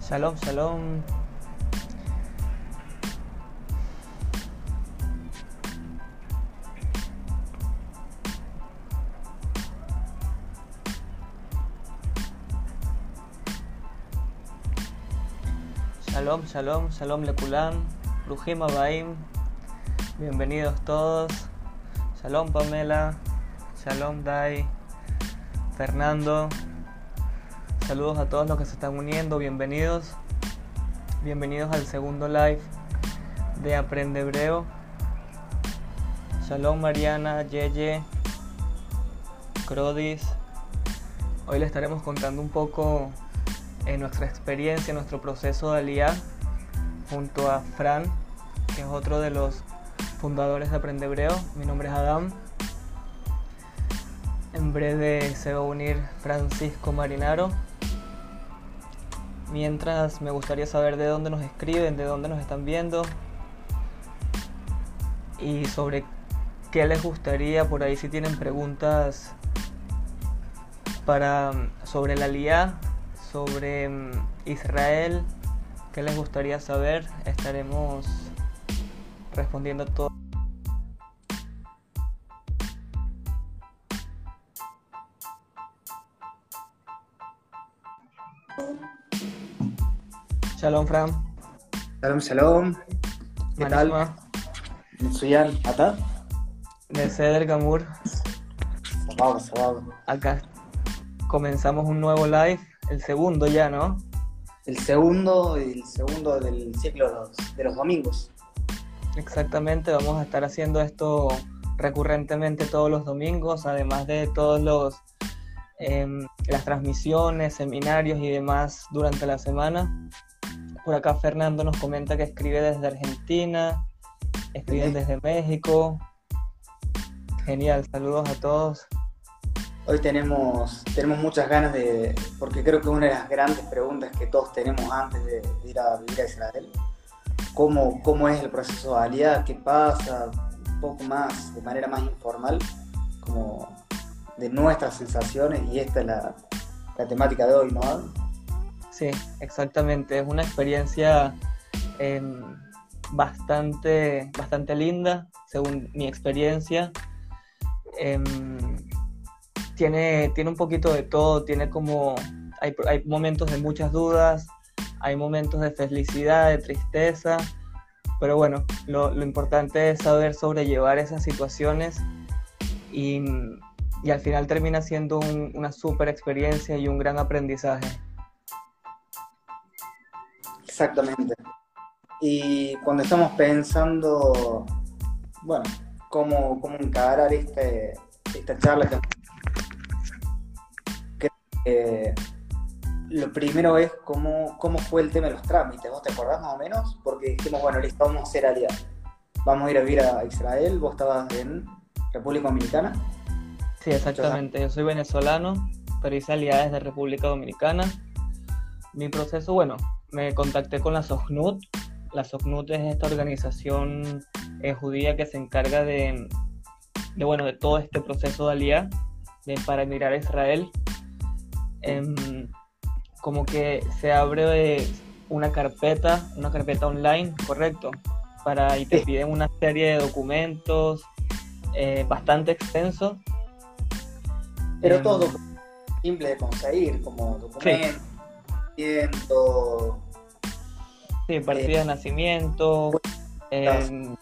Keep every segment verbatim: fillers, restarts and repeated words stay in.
Shalom, shalom. Shalom, shalom, shalom lekulam. Bruhim Abaim. Bienvenidos todos. Shalom Pamela. Shalom Dai. Fernando. Saludos a todos los que se están uniendo. Bienvenidos. Bienvenidos al segundo live de Aprende Hebreo. Shalom Mariana, Yeye, Crodis. Hoy les estaremos contando un poco en nuestra experiencia, nuestro proceso de Aliyah, junto a Fran, que es otro de los fundadores de Aprende Hebreo. Mi nombre es Adam. En breve se va a unir Francisco Marinaro. Mientras, me gustaría saber de dónde nos escriben, de dónde nos están viendo y sobre qué les gustaría, por ahí si tienen preguntas para sobre la Aliyah, sobre um, Israel, qué les gustaría saber. Estaremos respondiendo a todo. Shalom Fran. Shalom, shalom. ¿Qué Manishma. tal? Suyan, ¿ata? De Seder Gamur. Sábado, sábado. Acá comenzamos un nuevo live, el segundo ya, ¿no? El segundo, el segundo del ciclo de los, de los domingos. Exactamente, vamos a estar haciendo esto recurrentemente todos los domingos, además de todos los eh, las transmisiones, seminarios y demás durante la semana. Por acá Fernando nos comenta que escribe desde Argentina, escriben desde México. Genial, saludos a todos. Hoy tenemos, tenemos muchas ganas de, porque creo que una de las grandes preguntas que todos tenemos antes de, de ir a vivir a Israel, ¿cómo, cómo es el proceso de Aliyah? ¿Qué pasa? Un poco más, de manera más informal, como de nuestras sensaciones, y esta es la, la temática de hoy, ¿no? Sí, exactamente. Es una experiencia eh, bastante, bastante linda, según mi experiencia. Eh, tiene, tiene un poquito de todo. Tiene como hay, hay momentos de muchas dudas, hay momentos de felicidad, de tristeza. Pero bueno, lo, lo importante es saber sobrellevar esas situaciones y, y al final termina siendo un, una súper experiencia y un gran aprendizaje. Exactamente. Y cuando estamos pensando, bueno, cómo, cómo encarar este, esta charla, creo que lo primero es cómo, cómo fue el tema de los trámites. ¿Vos te acordás más o menos? Porque dijimos, bueno, listo, vamos a hacer Aliyah. Vamos a ir a vivir a Israel. Vos estabas en República Dominicana. Sí, exactamente. Yo soy venezolano, pero hice Aliyah desde República Dominicana. Mi proceso, bueno, me contacté con la Sochnut. La Sochnut es esta organización eh, judía que se encarga de, de, bueno, de todo este proceso de Aliyah, de, para emigrar a Israel. Eh, como que se abre eh, una carpeta, una carpeta online, correcto, para, y te Sí. piden una serie de documentos eh, bastante extensos. Pero Eh, todo simple de conseguir, como documentos, ciento, sí, partida de nacimiento. Eh,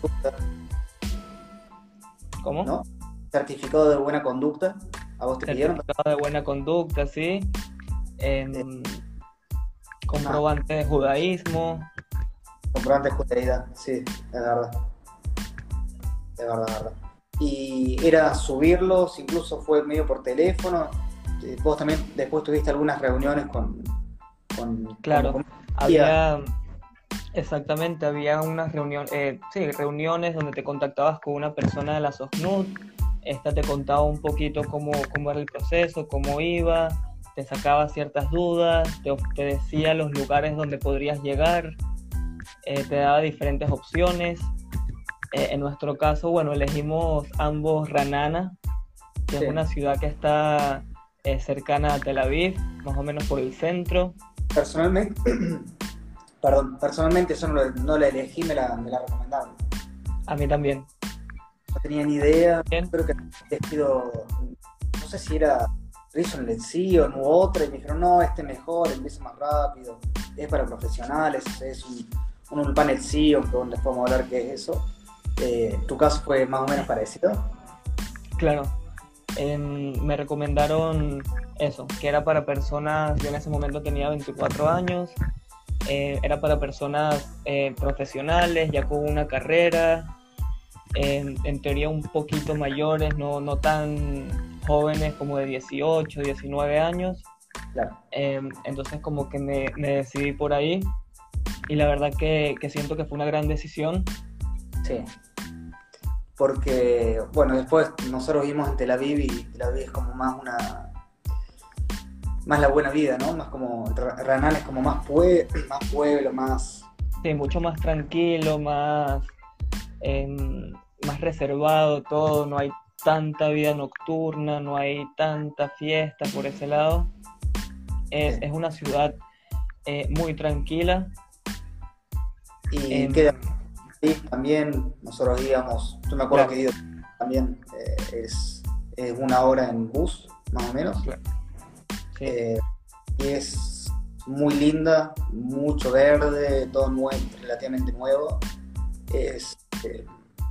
¿Cómo? ¿no? Certificado de buena conducta. ¿A vos te pidieron? Certificado de buena conducta, sí. Eh, comprobante de judaísmo. Comprobante de judaidad, sí, es verdad. Es verdad, es verdad. Y era subirlos, incluso fue medio por teléfono. Eh, Vos también después tuviste algunas reuniones con... con Claro, con- había, exactamente, había unas reuniones, eh, sí, reuniones donde te contactabas con una persona de la Sochnut. Esta te contaba un poquito cómo, cómo era el proceso, cómo iba, te sacaba ciertas dudas, te, te decía los lugares donde podrías llegar, eh, te daba diferentes opciones. Eh, en nuestro caso, bueno, elegimos ambos Ranana, que Sí. es una ciudad que está eh, cercana a Tel Aviv, más o menos por el centro. Personalmente, perdón, personalmente yo no, lo- no la elegí, me la, me la recomendaron. A mí también. No tenía ni idea, Bien. creo que había sido, no sé si era Rison Lezion u otra, y me dijeron, no, este mejor, empieza más rápido, es para profesionales, es un, un Ulpan Lezion, que les podemos hablar qué es eso. Eh, ¿tu caso fue más o menos parecido? Claro. En- me recomendaron eso, que era para personas, yo en ese momento tenía veinticuatro años, eh, era para personas eh, profesionales, ya con una carrera, en, en teoría un poquito mayores, no, no tan jóvenes como de dieciocho, diecinueve años. Claro, Eh, entonces como que me, me decidí por ahí y la verdad que, que siento que fue una gran decisión. sí. Porque, bueno, después nosotros vivimos en Tel Aviv y Tel Aviv es como más una, más la buena vida, ¿no? Más como, Ra- Ranán es como más, pue- más pueblo, más, Sí, mucho más tranquilo, más, em, más reservado todo, no hay tanta vida nocturna, no hay tanta fiesta por ese lado. Es, sí. es una ciudad eh, muy tranquila. Y em, queda ahí también, nosotros íbamos, yo me acuerdo claro, que he ido también, eh, es, es una hora en bus, más o menos, claro, sí, eh, y es muy linda, mucho verde, todo nuevo, relativamente nuevo, es, eh,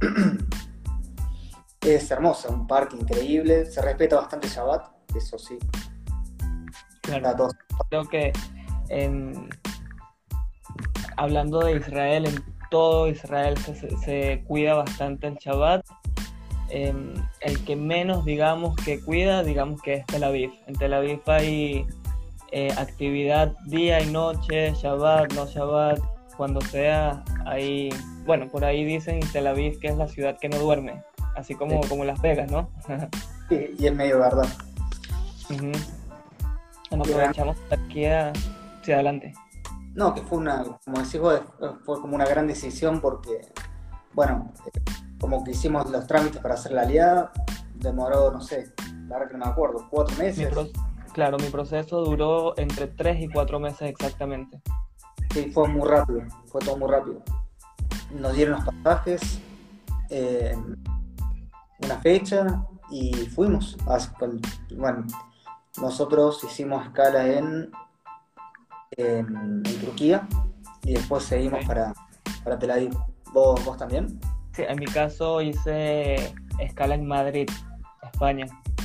es hermosa, un parque increíble, se respeta bastante Shabbat, eso sí, claro. está todo. Creo que em, hablando de Israel, en todo Israel se, se- se cuida bastante el Shabbat. Em, el que menos digamos que cuida, digamos que es Tel Aviv. En Tel Aviv hay eh, actividad día y noche, Shabbat, no Shabbat, cuando sea, hay, bueno, por ahí dicen Tel Aviv que es la ciudad que no duerme, así como, Sí, como Las Vegas, ¿no? sí, y es medio verdad. Ujú. Bueno, Y realmente, aprovechamos aquí a... Sí, adelante. no, que fue una, como decís vos, fue como una gran decisión porque, bueno, eh, como que hicimos los trámites para hacer la alianza, demoró, no sé, la verdad que no me acuerdo, cuatro Mi pro- meses, Claro, mi proceso duró entre tres y cuatro meses exactamente. sí, fue muy rápido, fue todo muy rápido. Nos dieron los pasajes, eh, una fecha y fuimos. Así que, bueno, nosotros hicimos escala en, en, en Turquía y después seguimos Ok. para, para Tel Aviv. ¿Vos, vos también? Sí, en mi caso hice escala en Madrid, España.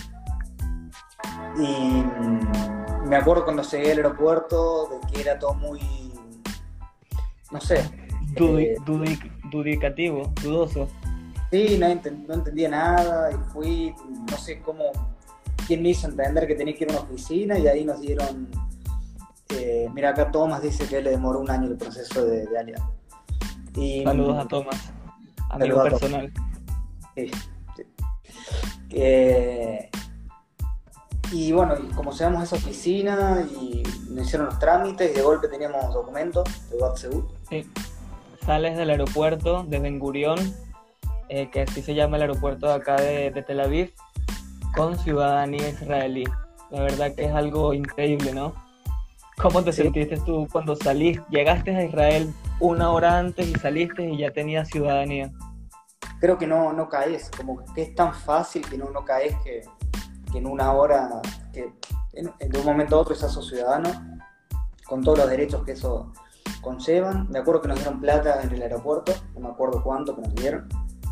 Y mm, me acuerdo cuando llegué al aeropuerto de que era todo muy, no sé, Dudi- eh, dudi- dudicativo, dudoso. sí, no, enten- no entendía nada y fui, no sé cómo, quién me hizo entender que tenía que ir a una oficina y ahí nos dieron, eh, mira acá Tomás dice que le demoró un año el proceso de, de alianza. Y Saludos mm, a Tomás, amigo saludos a Tomás. personal. Sí, sí. Eh, y bueno, y como llegamos a esa oficina y nos hicieron los trámites y de golpe teníamos documentos de Bat Seul. Sí. Sales del aeropuerto de Ben Gurión, eh, que así se llama el aeropuerto de acá de, de Tel Aviv, con ciudadanía israelí. La verdad que es algo increíble, ¿no? ¿Cómo te Sí, sentiste tú cuando saliste, llegaste a Israel una hora antes y saliste y ya tenías ciudadanía? creo que no, no caes, como que es tan fácil que no, no caes que, que en una hora, que en- de un momento a otro ya sos ciudadano, con todos los derechos que eso conllevan. Me acuerdo que nos dieron plata en el aeropuerto, no me acuerdo cuánto que nos dieron,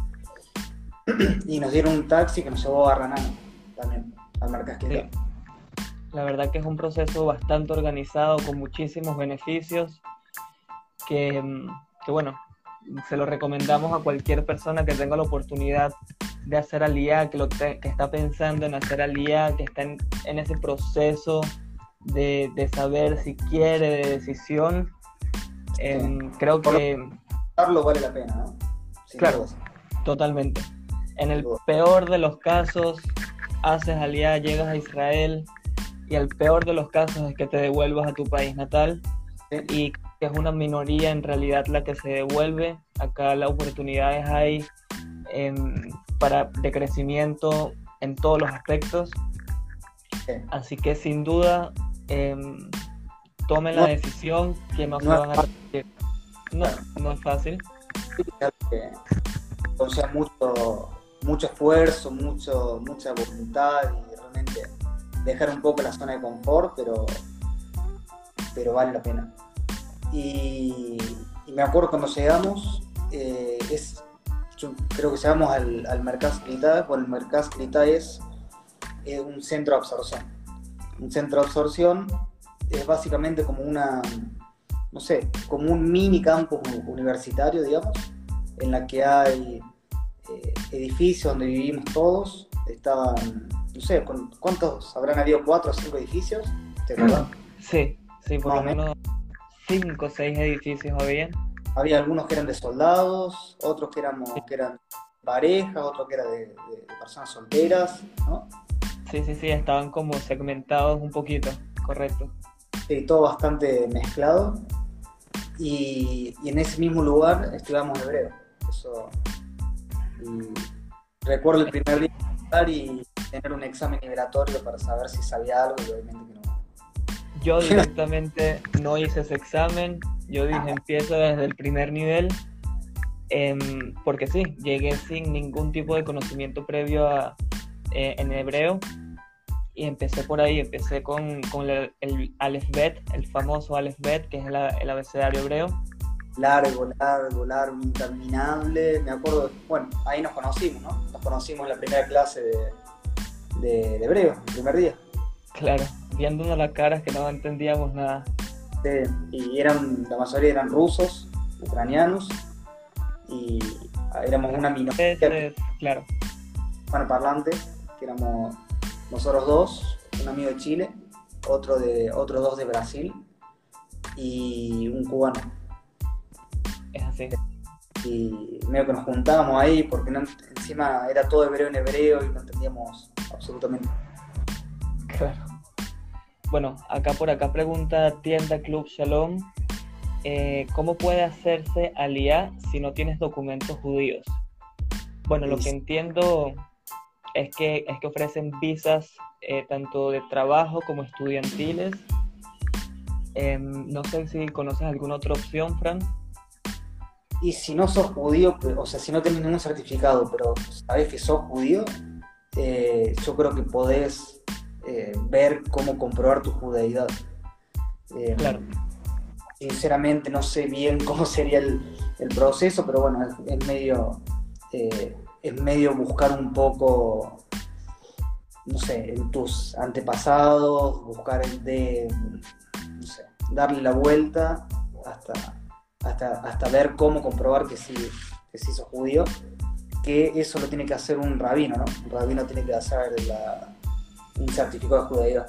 y nos dieron un taxi que nos llevó a Ranano, también, al Marcasquita. Sí. La verdad que es un proceso bastante organizado, con muchísimos beneficios, que, mm, que bueno, se lo recomendamos a cualquier persona que tenga la oportunidad de hacer aliyá, que, lo te- que está pensando en hacer aliyá, que está en, en ese proceso de, de saber si quiere, de decisión. Sí. Em, creo Por lo que, menos vale la pena, ¿no? Sin claro, dudas, totalmente. En sin el dudas. peor de los casos, haces aliyá, llegas a Israel, y el peor de los casos es que te devuelvas a tu país natal, Sí, y que es una minoría en realidad la que se devuelve. Acá las oportunidades hay em, para, de crecimiento en todos los aspectos, sí, así que sin duda em, tomen No, la decisión que no se no es van a fácil, arrepentir. No, no es fácil. que conlleva mucho, mucho esfuerzo, mucho, mucha voluntad y realmente dejar un poco la zona de confort, pero, pero vale la pena. Y, y me acuerdo cuando llegamos, eh, es, yo creo que llegamos al, al Mercado Scrita. Bueno, el Mercado Scrita es, es un centro de absorción. Un centro de absorción es básicamente como una, no sé, como un mini campus universitario, digamos, en la que hay eh, edificios donde vivimos todos. Estaban, no sé, ¿cuántos habrán habido? ¿Cuatro o cinco edificios? ¿Te acordás? Sí, sí, por Más lo o menos. menos cinco o seis edificios había. Había algunos que eran de soldados, otros que, éramos, que eran parejas, otros que eran de, de, de personas solteras, ¿no? Sí, sí, sí, estaban como segmentados un poquito, correcto. Sí, todo bastante mezclado. Y, y en ese mismo lugar estudiamos hebreo. Eso, y recuerdo el primer día estar y tener un examen migratorio para saber si sabía algo, y obviamente que no. Yo directamente no hice ese examen, yo dije empiezo desde el primer nivel, em, porque sí, llegué sin ningún tipo de conocimiento previo a, eh, en hebreo, y empecé por ahí, empecé con, con el, el Aleph Bet, el famoso Aleph Bet, que es el, el abecedario hebreo. Largo, largo, largo, interminable. Me acuerdo, bueno, ahí nos conocimos, ¿no? Nos conocimos en la primera clase de, de, de hebreo, el primer día. Claro, viéndonos las caras que no entendíamos nada. Sí, y eran, la mayoría eran rusos, ucranianos, y éramos una minoría, Entonces, claro, hispanoparlantes, que éramos nosotros dos, un amigo de Chile, otro de, otros dos de Brasil y un cubano. es así. Y medio que nos juntábamos ahí porque no, encima era todo hebreo en hebreo y no entendíamos absolutamente. Claro. Bueno, acá por acá pregunta Tienda Club Shalom, eh, ¿cómo puede hacerse aliyá si no tienes documentos judíos? Bueno, lo que entiendo es que, es que ofrecen visas eh, tanto de trabajo como estudiantiles. Eh, no sé si conoces alguna otra opción, Fran. Y si no sos judío, o sea, si no tenés ningún certificado, pero sabés que sos judío, eh, yo creo que podés eh, ver cómo comprobar tu judeidad. Eh, Claro. Sinceramente no sé bien cómo sería el, el proceso, pero bueno, es, es medio eh, es medio buscar un poco, no sé, en tus antepasados, buscar de, no sé, darle la vuelta hasta, hasta, hasta ver cómo comprobar que sí, que sí sos judío, que eso lo tiene que hacer un rabino, ¿no? Un rabino tiene que hacer la, un certificado de judaísmo.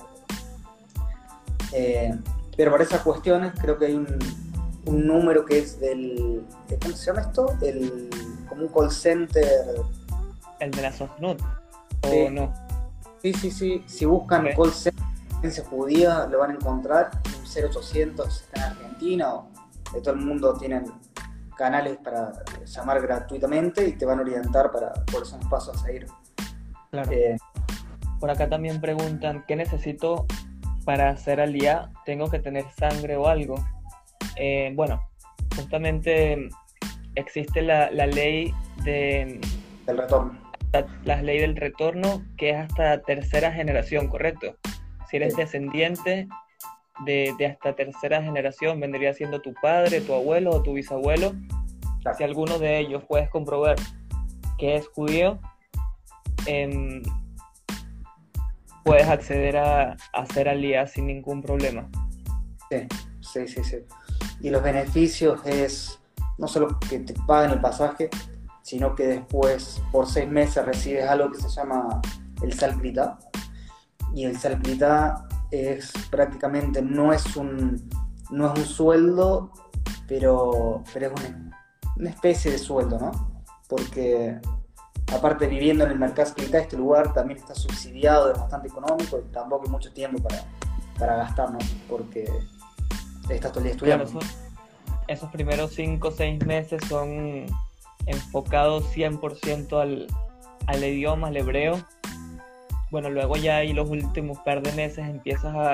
Eh, pero para esas cuestiones creo que hay un, un número que es del, ¿cómo se llama esto? El, como un call center. ¿El de la Socnut? ¿O Sí. no? Sí, sí, sí. Si buscan Ok. call center agencia judía, lo van a encontrar. Un cero ochocientos está en Argentina, o de todo el mundo tienen canales para llamar gratuitamente y te van a orientar para cuáles son los pasos a seguir. Claro. Eh, Por acá también preguntan, ¿qué necesito para hacer aliyá? ¿Tengo que tener sangre o algo? Eh, bueno, justamente existe la, la ley de del retorno. la, la ley del retorno, que es hasta tercera generación, ¿correcto? Si eres Sí. descendiente de, de hasta tercera generación, vendría siendo tu padre, tu abuelo o tu bisabuelo. Claro. Si alguno de ellos puedes comprobar que es judío, em, puedes acceder a, a hacer aliyá sin ningún problema. Sí, sí, sí, sí. Y los beneficios es no solo que te paguen el pasaje, sino que después por seis meses recibes algo que se llama el Sal Klita. Y el Sal Klita es prácticamente, no es un, no es un sueldo, pero, pero es una, una especie de sueldo, ¿no? Porque aparte viviendo en el Mercado Scrita, este lugar también está subsidiado, es bastante económico y tampoco hay mucho tiempo para, para gastar, ¿no? Porque estás todo el día estudiando. Claro, esos, esos primeros cinco o seis meses son enfocados cien por ciento al, al idioma, al hebreo. Bueno, luego ya ahí los últimos par de meses empiezas a,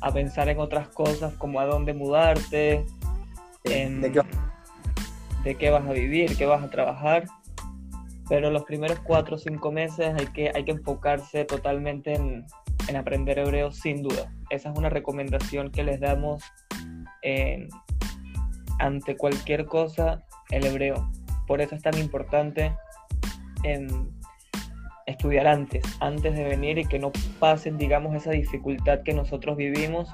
a pensar en otras cosas como a dónde mudarte, en ¿De qué? de qué vas a vivir, qué vas a trabajar. Pero los primeros cuatro o cinco meses hay que, hay que enfocarse totalmente en, en aprender hebreo sin duda. Esa es una recomendación que les damos eh, ante cualquier cosa, el hebreo. Por eso es tan importante en estudiar antes, antes de venir y que no pasen, digamos, esa dificultad que nosotros vivimos.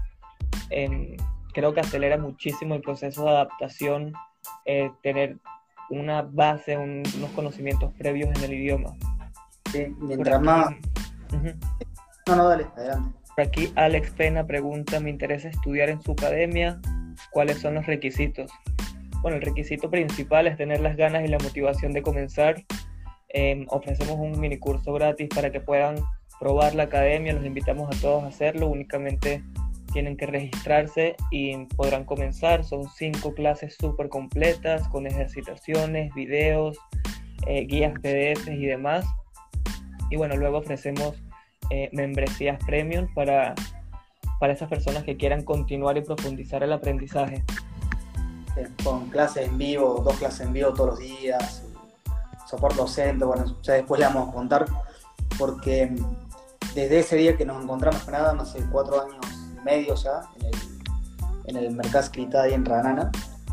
Eh, creo que acelera muchísimo el proceso de adaptación, eh, tener una base, un, unos conocimientos previos en el idioma. Sí, Por mientras aquí, más... ujú. No, no, dale, adelante. Por aquí Alex Pena pregunta, me interesa estudiar en su academia, ¿cuáles son los requisitos? Bueno, el requisito principal es tener las ganas y la motivación de comenzar. Eh, ofrecemos un mini curso gratis para que puedan probar la academia, los invitamos a todos a hacerlo, únicamente tienen que registrarse y podrán comenzar. Son cinco clases súper completas con ejercitaciones, videos, eh, guías P D Fs y demás. Y bueno, luego ofrecemos eh, membresías premium para, para esas personas que quieran continuar y profundizar el aprendizaje. Eh, con clases en vivo, dos clases en vivo todos los días, soporte docente, bueno, ya después le vamos a contar, porque desde ese día que nos encontramos, con nada, no sé, cuatro años y medio ya, en el, en el Mercado Escrita ahí en Ranana,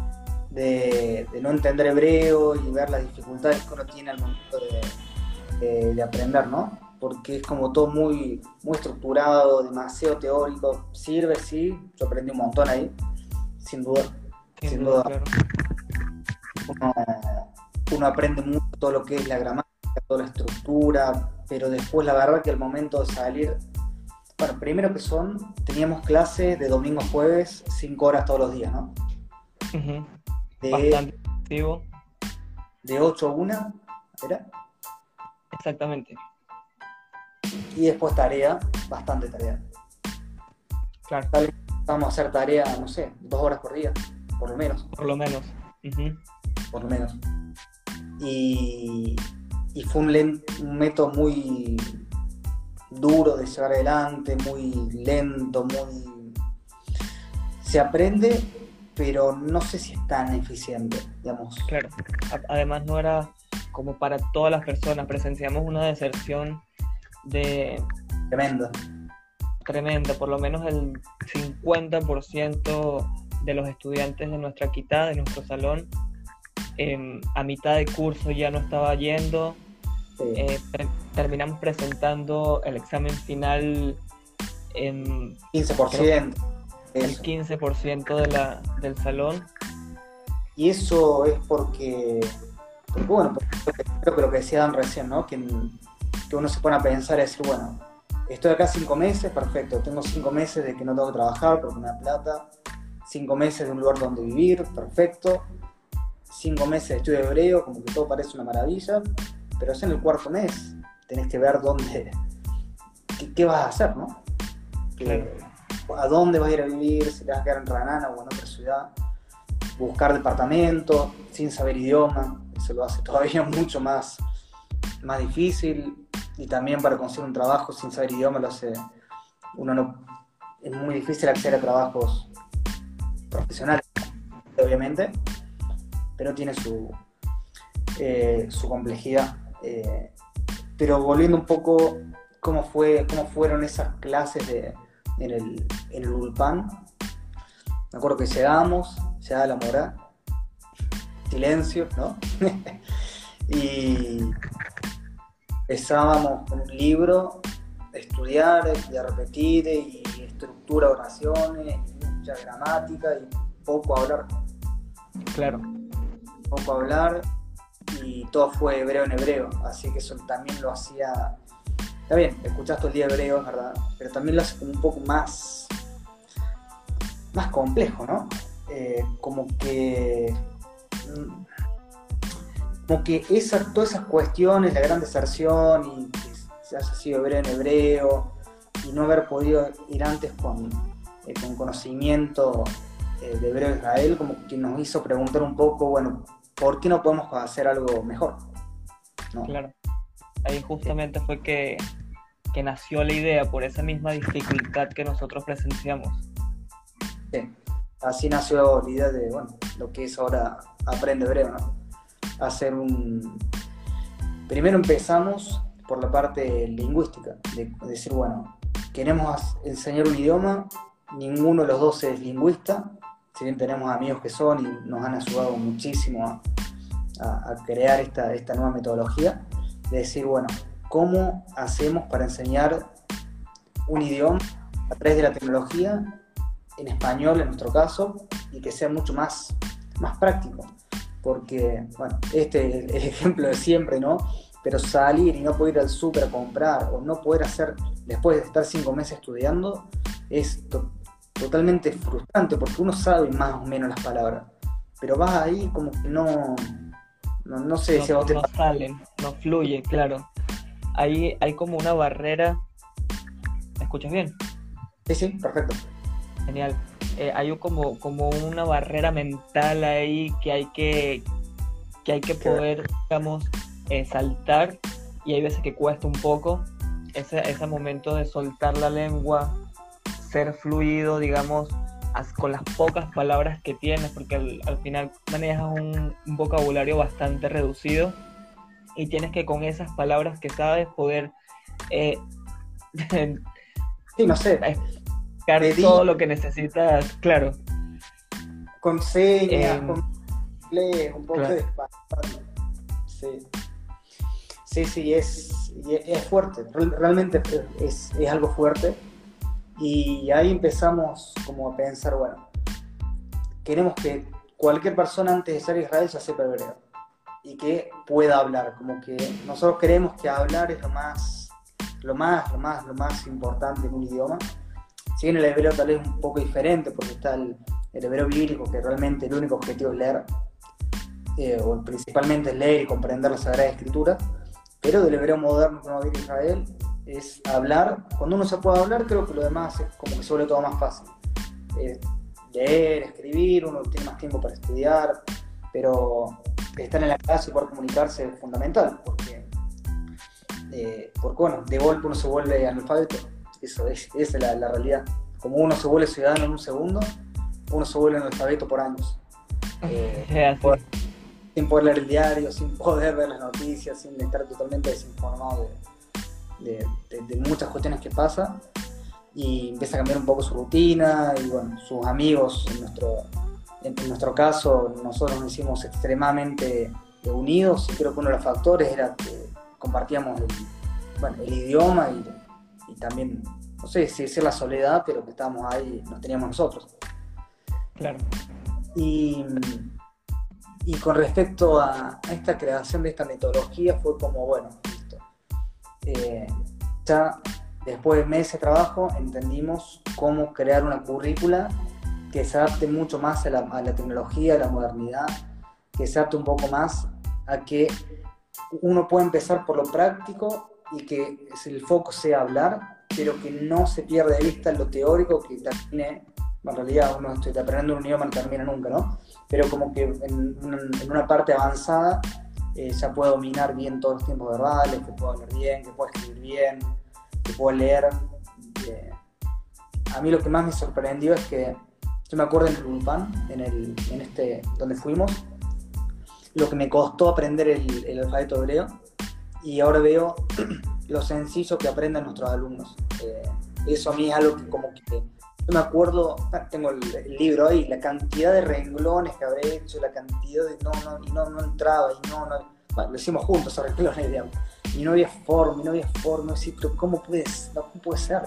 de, de no entender hebreo y ver las dificultades que uno tiene al momento de, de, de aprender, ¿no? Porque es como todo muy, muy estructurado, demasiado teórico. Sirve, sí, yo aprendí un montón ahí, sin duda. Sin, sin duda, duda. claro. Uno, uno aprende mucho todo lo que es la gramática, toda la estructura, pero después la verdad que al momento de salir, bueno, primero que son, teníamos clases de domingo a jueves, cinco horas todos los días, ¿no? Uh-huh. De, Bastante activo. de ocho a una, ¿era? Exactamente. Y después tarea, bastante tarea. Claro. Tal vez vamos a hacer tarea, no sé, dos horas por día, por lo menos. Por lo menos. Uh-huh. Por lo menos. Y, y fue un, lent, un método muy duro de llevar adelante, muy lento, muy... Se aprende, pero no sé si es tan eficiente, digamos. Claro. Además no era como para todas las personas. Presenciamos una deserción de... Tremenda. Tremenda. Por lo menos el cincuenta por ciento de los estudiantes de nuestra quitá, de nuestro salón, eh, a mitad de curso ya no estaba yendo. Sí. Eh, pre- terminamos presentando el examen final en quince por ciento. el quince por ciento de la, del salón. Y eso es porque, porque bueno, porque creo que lo que decían recién, ¿no? Que, que uno se pone a pensar y decir, bueno, estoy acá cinco meses, perfecto, tengo cinco meses de que no tengo que trabajar porque me da plata, cinco meses de un lugar donde vivir, perfecto, cinco meses de estudio de hebreo, como que todo parece una maravilla, pero es en el cuarto mes, tenés que ver dónde, qué, qué vas a hacer, ¿no? Claro. A dónde vas a ir a vivir, si te vas a quedar en Ranana o en otra ciudad, buscar departamento sin saber idioma, eso lo hace todavía mucho más, más difícil, y también para conseguir un trabajo sin saber idioma lo hace, uno no, es muy difícil acceder a trabajos profesionales, obviamente, pero tiene su, eh, su complejidad. Eh, pero volviendo un poco, ¿cómo, fue, cómo fueron esas clases de, en, el, en el Ulpan? Me acuerdo que llegábamos, llegaba la mora, silencio, ¿no? Y empezábamos con un libro, a estudiar y a repetir, y estructura, oraciones, y mucha gramática, y poco a hablar. Claro. Poco a hablar, y todo fue hebreo en hebreo, así que eso también lo hacía... Está bien, escuchás todo el día hebreo, es verdad, pero también lo hace como un poco más... más complejo, ¿no? Eh, como que... como que esa, todas esas cuestiones, la gran deserción y que se haya sido hebreo en hebreo y no haber podido ir antes con, eh, con conocimiento eh, de hebreo de Israel, como que nos hizo preguntar un poco, bueno, ¿por qué no podemos hacer algo mejor? ¿No? Claro. Ahí justamente fue que, que nació la idea por esa misma dificultad que nosotros presenciamos. Sí, así nació la idea de, bueno, lo que es ahora Aprende Hebreo, ¿no? Hacer un... Primero empezamos por la parte lingüística, de, de decir, bueno, queremos enseñar un idioma, ninguno de los dos es lingüista, si bien tenemos amigos que son y nos han ayudado muchísimo a, a, a crear esta, esta nueva metodología, de decir, bueno, ¿cómo hacemos para enseñar un idioma a través de la tecnología, en español en nuestro caso, y que sea mucho más, más práctico? Porque, bueno, este es el ejemplo de siempre, ¿no? Pero salir y no poder ir al súper a comprar, o no poder hacer, después de estar cinco meses estudiando, es to- totalmente frustrante, porque uno sabe más o menos las palabras, pero vas ahí como que no, no, no sé No, si a vos te no pasa. salen, no fluye, claro. Ahí hay como una barrera. ¿Me escuchas bien? Sí, sí, perfecto. Genial. Eh, hay un- como, como una barrera mental ahí que hay que, que hay que poder, digamos, eh, saltar, y hay veces que cuesta un poco ese, ese momento de soltar la lengua, ser fluido, digamos, as- con las pocas palabras que tienes, porque al, al final manejas un, un vocabulario bastante reducido y tienes que con esas palabras que sabes poder eh, Sí, no sé, explicar pedí todo lo que necesitas, claro. con señas, Em, con inglés, un poco claro. de español. Sí, sí, sí, es, y es, es fuerte, Real- realmente es, es algo fuerte. Y ahí empezamos como a pensar, bueno, queremos que cualquier persona antes de ser Israel ya sepa hebreo y que pueda hablar, como que nosotros creemos que hablar es lo más, lo más, lo más, lo más importante en un idioma. Si bien el hebreo tal vez es un poco diferente, porque está el, el hebreo bíblico, que realmente el único objetivo es leer, eh, o principalmente es leer y comprender la Sagrada Escritura, pero del hebreo moderno que no viene Israel es hablar. Cuando uno se puede hablar, creo que lo demás es como que se vuelve todo más fácil. Eh, leer, escribir, uno tiene más tiempo para estudiar, pero estar en la clase y poder comunicarse es fundamental, porque, eh, porque bueno, de golpe uno se vuelve analfabeto. Eso es, esa es la, la realidad. Como uno se vuelve ciudadano en un segundo, uno se vuelve analfabeto por años. Eh, Es así. por- sin poder leer el diario, sin poder ver las noticias, sin estar totalmente desinformado de, de, de, de muchas cuestiones que pasan, y empieza a cambiar un poco su rutina y bueno, sus amigos, en nuestro, en, en nuestro caso nosotros nos hicimos extremadamente unidos, y creo que uno de los factores era que compartíamos el, bueno, el idioma y, y también, no sé si decir la soledad, pero que estábamos ahí, nos teníamos nosotros. Claro. Y, y con respecto a esta creación de esta metodología fue como, bueno, listo. Eh, ya después de meses de trabajo entendimos cómo crear una currícula que se adapte mucho más a la, a la tecnología, a la modernidad, que se adapte un poco más a que uno pueda empezar por lo práctico y que el foco sea hablar, pero que no se pierda de vista lo teórico, que termine, en realidad uno está aprendiendo un idioma no termina nunca, ¿no? Pero como que en, en una parte avanzada eh, ya puedo dominar bien todos los tiempos verbales, que puedo hablar bien, que puedo escribir bien, que puedo leer. Eh, a mí lo que más me sorprendió es que yo me acuerdo en el Ulpan, en, el, en este, donde fuimos, lo que me costó aprender el, el alfabeto hebreo, y ahora veo lo sencillo que aprenden nuestros alumnos. Eh, eso a mí es algo que como que, yo me acuerdo, tengo el, el libro ahí, la cantidad de renglones que habré hecho, la cantidad de no, no, y no, no entraba, y no, no, bueno, lo hicimos juntos, esos renglones, digamos, y no había forma, y no había forma, así, pero ¿cómo puede, no, ¿cómo puede ser?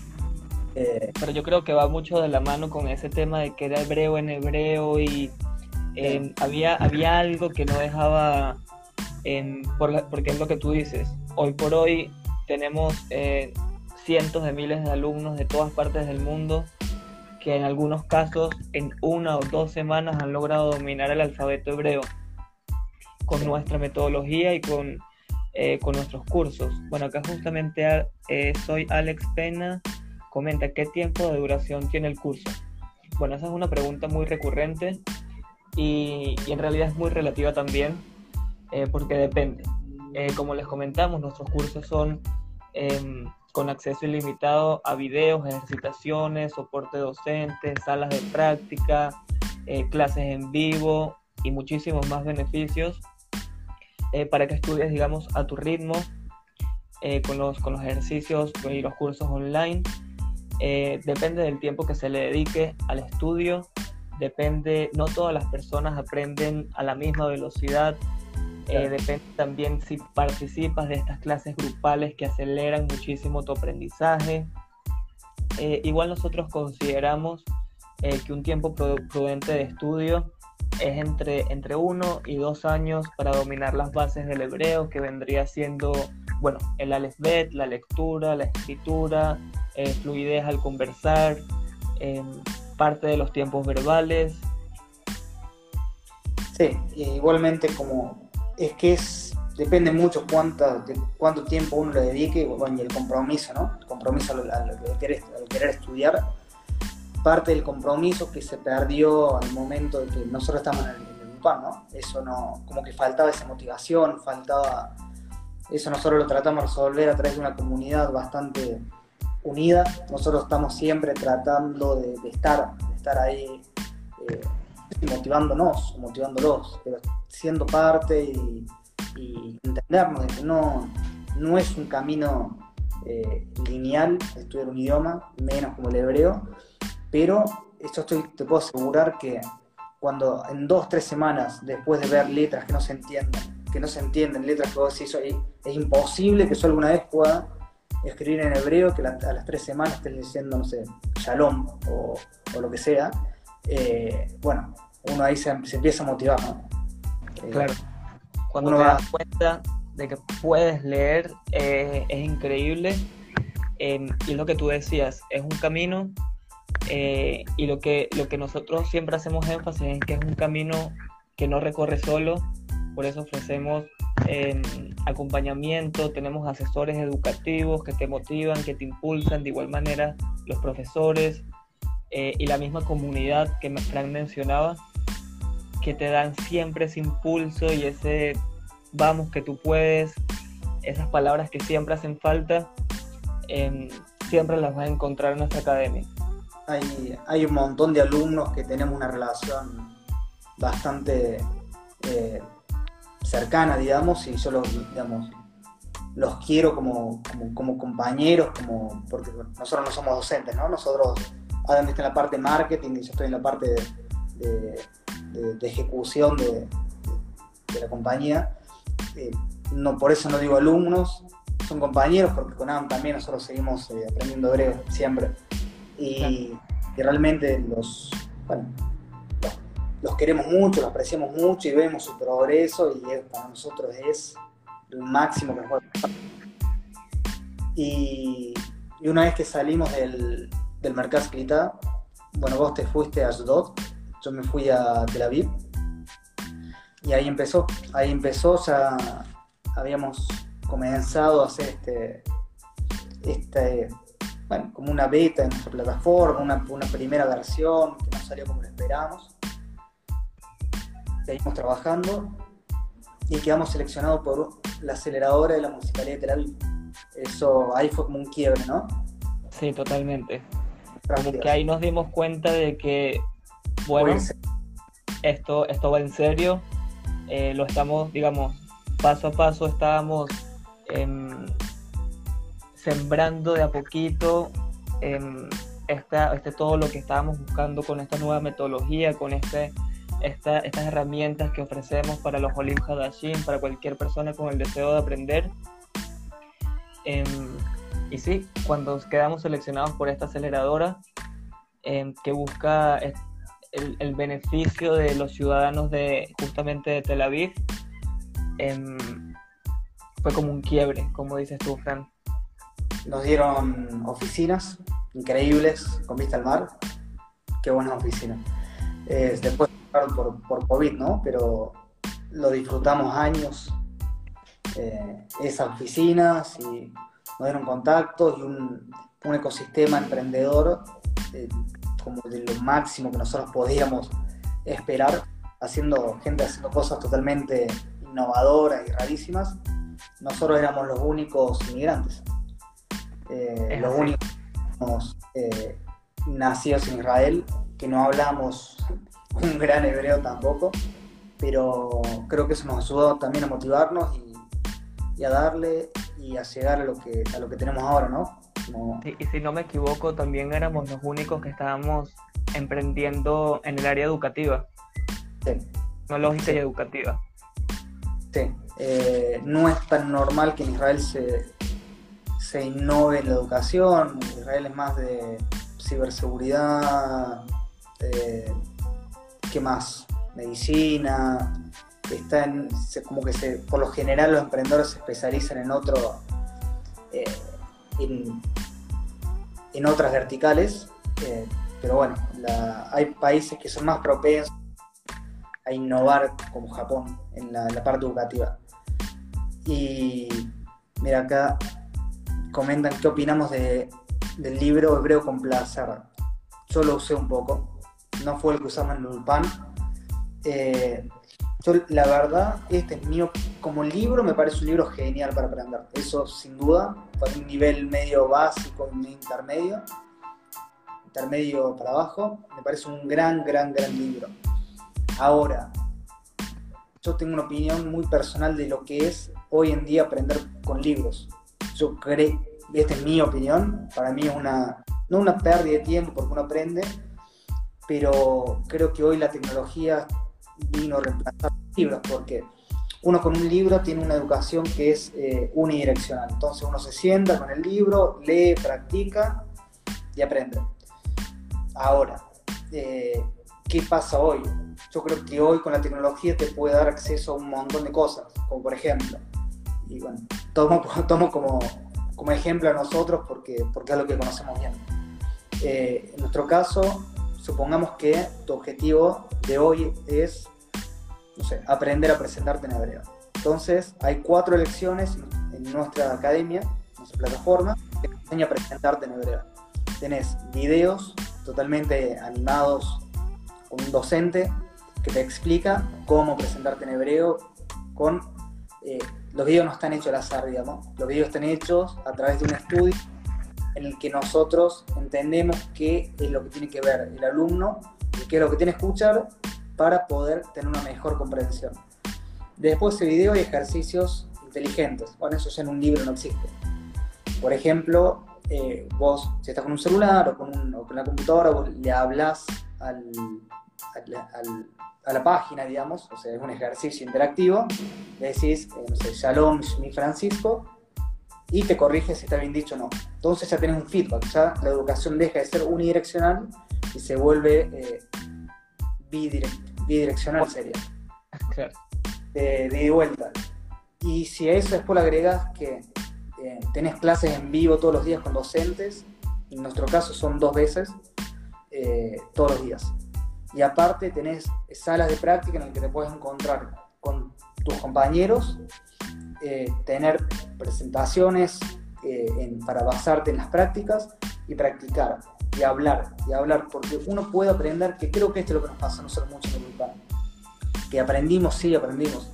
Eh, Pero yo creo que va mucho de la mano con ese tema de que era hebreo en hebreo, y eh, bien, había, había algo que no dejaba, eh, por la- porque es lo que tú dices. Hoy por hoy tenemos eh, cientos de miles de alumnos de todas partes del mundo que en algunos casos en una o dos semanas han logrado dominar el alfabeto hebreo con nuestra metodología y con, eh, con nuestros cursos. Bueno, acá justamente eh, soy Alex Pena, comenta qué tiempo de duración tiene el curso. Bueno, esa es una pregunta muy recurrente, y, y en realidad es muy relativa también, eh, porque depende. Eh, como les comentamos, nuestros cursos son eh, con acceso ilimitado a videos, ejercitaciones, soporte docente, salas de práctica, eh, clases en vivo y muchísimos más beneficios eh, para que estudies, digamos, a tu ritmo, eh, con, los, con los ejercicios y los cursos online. Eh, depende del tiempo que se le dedique al estudio, depende, no todas las personas aprenden a la misma velocidad. Eh, depende también si participas de estas clases grupales que aceleran muchísimo tu aprendizaje. Eh, igual nosotros consideramos eh, que un tiempo prudente de estudio es entre, entre uno y dos años para dominar las bases del hebreo, que vendría siendo, bueno, el Aleph Bet, la lectura, la escritura, eh, fluidez al conversar, eh, parte de los tiempos verbales. Sí, igualmente como es que es depende mucho cuánta, de cuánto tiempo uno le dedique, bueno, y el compromiso, ¿no? El compromiso al, al, al, querer, al querer estudiar. Parte del compromiso que se perdió al momento de que nosotros estamos en el, en el Grupal, ¿no? Eso no, como que faltaba esa motivación, faltaba, eso nosotros lo tratamos de resolver a través de una comunidad bastante unida. Nosotros estamos siempre tratando de, de estar, de estar ahí, eh, motivándonos, motivándolos, pero siendo parte y, y entendernos de que no, no es un camino eh, lineal estudiar un idioma, menos como el hebreo, pero esto estoy, te puedo asegurar que cuando en dos, tres semanas, después de ver letras que no se entienden, que no se entienden, letras que vos decís, es, es imposible que yo alguna vez pueda escribir en hebreo, que la, a las tres semanas estés diciendo, no sé, shalom o, o lo que sea, eh, bueno, uno ahí se, se empieza a motivar, ¿no? Eh, claro. Cuando te va... das cuenta de que puedes leer, eh, es increíble. Eh, y lo que tú decías, es un camino, eh, y lo que, lo que nosotros siempre hacemos énfasis es que es un camino que no recorre solo. Por eso ofrecemos eh, acompañamiento, tenemos asesores educativos que te motivan, que te impulsan, de igual manera los profesores eh, y la misma comunidad que Fran mencionaba, que te dan siempre ese impulso y ese vamos que tú puedes, esas palabras que siempre hacen falta, eh, siempre las vas a encontrar en nuestra academia. Hay, hay un montón de alumnos que tenemos una relación bastante eh, cercana, digamos, y yo los, digamos, los quiero como, como, como compañeros, como, porque nosotros no somos docentes, ¿no? Nosotros, Adam está en la parte de marketing y yo estoy en la parte de, de, de, de ejecución de, de, de la compañía. Eh, no, por eso no digo alumnos, son compañeros, porque con Adam también nosotros seguimos eh, aprendiendo hebreo siempre. Y, y realmente los, bueno, los, los queremos mucho, los apreciamos mucho y vemos su progreso, y es, para nosotros es el máximo que nos puede pasar. Y, y una vez que salimos del, del Merkaz Klita, bueno, vos te fuiste a Ashdod, yo me fui a Tel Aviv, y ahí empezó, ahí empezó, ya habíamos comenzado a hacer este, este bueno, como una beta en nuestra plataforma, una, una primera versión que no salió como lo esperábamos. Seguimos trabajando y quedamos seleccionados por la aceleradora de la Musicalidad de Tel Aviv. Eso, ahí fue como un quiebre, ¿no? Sí, totalmente. Gracias. Como que ahí nos dimos cuenta de que, bueno, esto, esto va en serio, eh, lo estamos, digamos, paso a paso estábamos eh, sembrando de a poquito eh, esta, este, todo lo que estábamos buscando con esta nueva metodología, con este, esta, estas herramientas que ofrecemos para los Olim Hadashim, para cualquier persona con el deseo de aprender. Eh, y sí, cuando quedamos seleccionados por esta aceleradora eh, que busca el, el beneficio de los ciudadanos de justamente de Tel Aviv, eh, fue como un quiebre, como dices tú, Fran. Nos dieron oficinas increíbles con vista al mar. Qué buenas oficinas. Eh, después por, por COVID, ¿no? Pero lo disfrutamos años, eh, esas oficinas, y nos dieron contactos y un, un ecosistema emprendedor eh, como de lo máximo que nosotros podíamos esperar, haciendo gente haciendo cosas totalmente innovadoras y rarísimas. Nosotros éramos los únicos inmigrantes. Eh, Es los así. únicos eh, nacidos en Israel, que no hablamos un gran hebreo tampoco, pero creo que eso nos ayudó también a motivarnos y, y a darle y a llegar a lo que, a lo que tenemos ahora, ¿no? Como, Sí, y si no me equivoco, también éramos los únicos que estábamos emprendiendo en el área educativa, sí, tecnológica y sí, educativa. sí. Eh, no es tan normal que en Israel se, se innove en la educación. Israel es más de ciberseguridad, eh, ¿qué más? Medicina. Está en, se, como que se, por lo general los emprendedores se especializan en otro, eh, en, en otras verticales, eh, pero bueno, la, hay países que son más propensos a innovar como Japón en la, la parte educativa. Y mira, acá comentan qué opinamos de, del libro Hebreo con Placer. Yo lo usé un poco, no fue el que usamos en el Ulpan. Eh, yo, la verdad, este es mío, como libro me parece un libro genial para aprender, eso sin duda, para un nivel medio básico, un intermedio, intermedio para abajo, me parece un gran, gran, gran libro. Ahora, yo tengo una opinión muy personal de lo que es hoy en día aprender con libros. Yo creo, esta es mi opinión, para mí es una, no una pérdida de tiempo porque uno aprende, pero creo que hoy la tecnología vino a reemplazar los libros, porque uno con un libro tiene una educación que es eh, unidireccional. Entonces uno se sienta con el libro, lee, practica y aprende. Ahora, eh, ¿qué pasa hoy? Yo creo que hoy con la tecnología te puede dar acceso a un montón de cosas, como por ejemplo, y bueno, tomo, tomo como, como ejemplo a nosotros porque, porque es lo que conocemos bien. Eh, en nuestro caso, supongamos que tu objetivo de hoy es, no sé, aprender a presentarte en hebreo. Entonces, hay cuatro lecciones en nuestra academia, en nuestra plataforma, que te enseña a presentarte en hebreo. Tenés videos totalmente animados con un docente que te explica cómo presentarte en hebreo con... Eh, los videos no están hechos al azar, digamos. Los videos están hechos a través de un estudio en el que nosotros entendemos qué es lo que tiene que ver el alumno y qué es lo que tiene que escuchar para poder tener una mejor comprensión. Después de ese video hay ejercicios inteligentes. Bueno, eso ya en un libro no existe. Por ejemplo, eh, vos, si estás con un celular o con, un, o con la computadora, vos le hablas al, al, al, a la página, digamos, o sea, es un ejercicio interactivo, le decís, eh, no sé, Shalom, Shmi Francisco, y te corrige si está bien dicho o no. Entonces ya tienes un feedback, ya la educación deja de ser unidireccional y se vuelve eh, bidirect, bidireccional, sería. Claro. De, de vuelta. Y si a eso después le agregas que eh, tenés clases en vivo todos los días con docentes, en nuestro caso son dos veces, eh, todos los días. Y aparte tenés salas de práctica en las que te puedes encontrar con tus compañeros, eh, tener presentaciones eh, en, para basarte en las prácticas y practicar y hablar, y hablar, porque uno puede aprender, que creo que esto es lo que nos pasa a nosotros mucho en el Vulcán, que aprendimos, sí, aprendimos,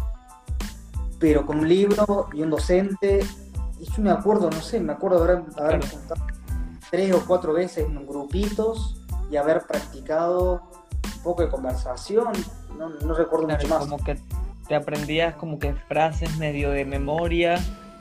pero con un libro y un docente, y yo me acuerdo, no sé, me acuerdo de haber, haber Claro. juntado tres o cuatro veces en grupitos y haber practicado un poco de conversación, no, no recuerdo Claro, mucho más. como que te aprendías como que frases medio de memoria.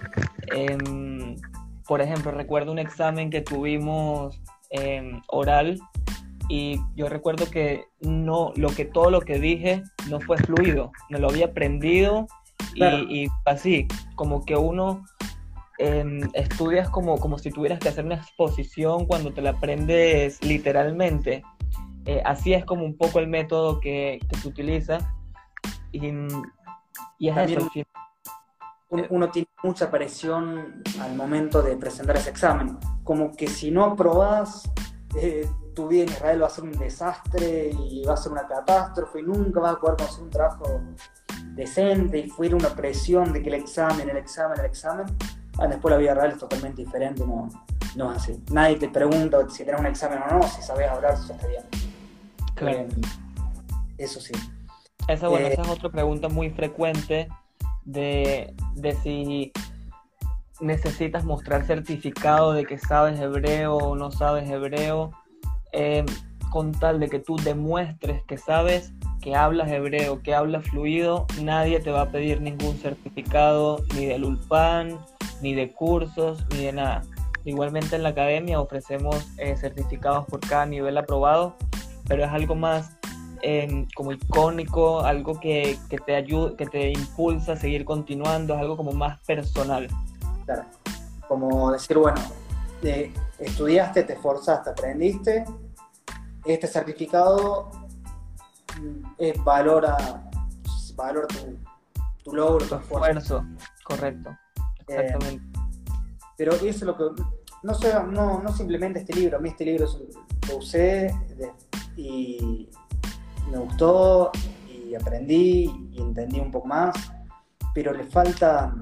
Em, por ejemplo, recuerdo un examen que tuvimos em, oral y yo recuerdo que no, lo que todo lo que dije no fue fluido, me lo había aprendido y, Claro. y así, como que uno em, estudias como, como si tuvieras que hacer una exposición cuando te la aprendes literalmente. Eh, así es como un poco el método que, que se utiliza y, y es También eso, al fin- un- uno tiene mucha presión al momento de presentar ese examen, como que si no aprobás, eh, tu vida en Israel va a ser un desastre y va a ser una catástrofe y nunca vas a poder conseguir un trabajo decente y fuera una presión de que el examen, el examen, el examen. Ah, después la vida real es totalmente diferente, no, no es así. Nadie te pregunta si tienes un examen o no, si sabes hablar, ya está bien. claro. Eh, eso sí. Esa, bueno, Eh, esa es otra pregunta muy frecuente de, de si necesitas mostrar certificado de que sabes hebreo o no sabes hebreo, eh, con tal de que tú demuestres que sabes, que hablas hebreo, que hablas fluido, nadie te va a pedir ningún certificado, ni del Ulpan, ni de cursos, ni de nada. Igualmente en la academia ofrecemos eh, certificados por cada nivel aprobado, pero es algo más eh, como icónico, algo que, que te ayuda, que te impulsa a seguir continuando, es algo como más personal. Claro. Como decir, bueno, eh, estudiaste, te esforzaste, aprendiste, este certificado eh, valora, valora tu, tu logro, tu esfuerzo. Correcto, exactamente. Eh, pero eso es lo que, no, sé, no, no simplemente este libro, a mí este libro lo usé de, y me gustó y aprendí y entendí un poco más, pero le falta,